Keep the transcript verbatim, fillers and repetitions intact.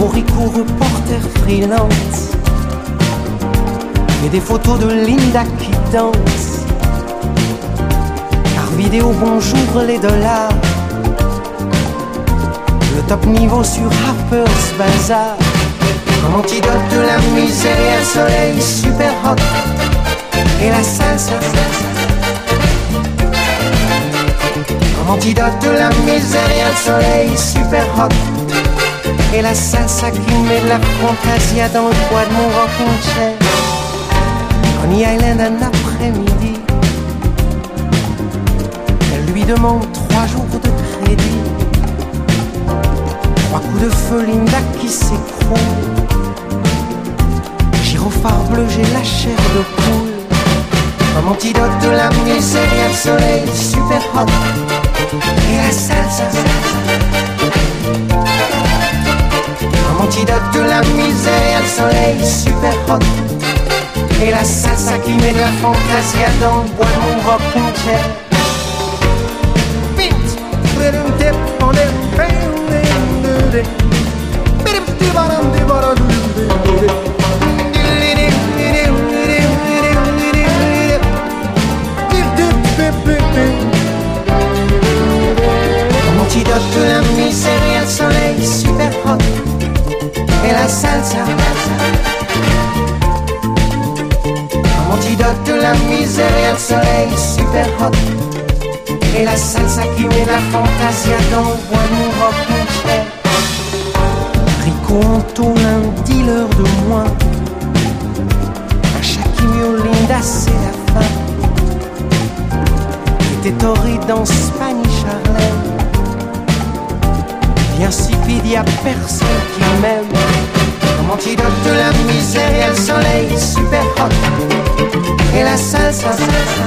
Morico, reporter freelance, et des photos de Linda qui danse. Par vidéo, bonjour les dollars, le top niveau sur Harper's Bazaar. Comme antidote de la misère et un soleil super hot, et la salsa. Comme antidote de la misère et un soleil super hot, et la salsa qui met de la fantasia dans le poids de mon rocking chair. Coney Island un après-midi, elle lui demande trois jours de crédit. Trois coups de feu, Linda qui s'écroule. Gyrophare bleu, j'ai la chair de poule. Comme antidote de la misère et un soleil super hot, et la salsa. Comme antidote de la misère et un soleil super hot, et la salsa qui met de la fantasia dans le bois de mon rocking chair. Vite, little dip on it, comme antidote de la misère et un soleil super hot, et la salsa. Comme antidote de la misère et un soleil super hot, et la salsa qui met la fantasia dans le bois de mon rocking chair. Rico Anto, un dealer de moins, un Shaquille Linda c'est la fin. Était torride dans Spanish Harlem, bien insipide, y'a personne qui m'aime. Comme antidote de la misère et un soleil super hot, et la salsa.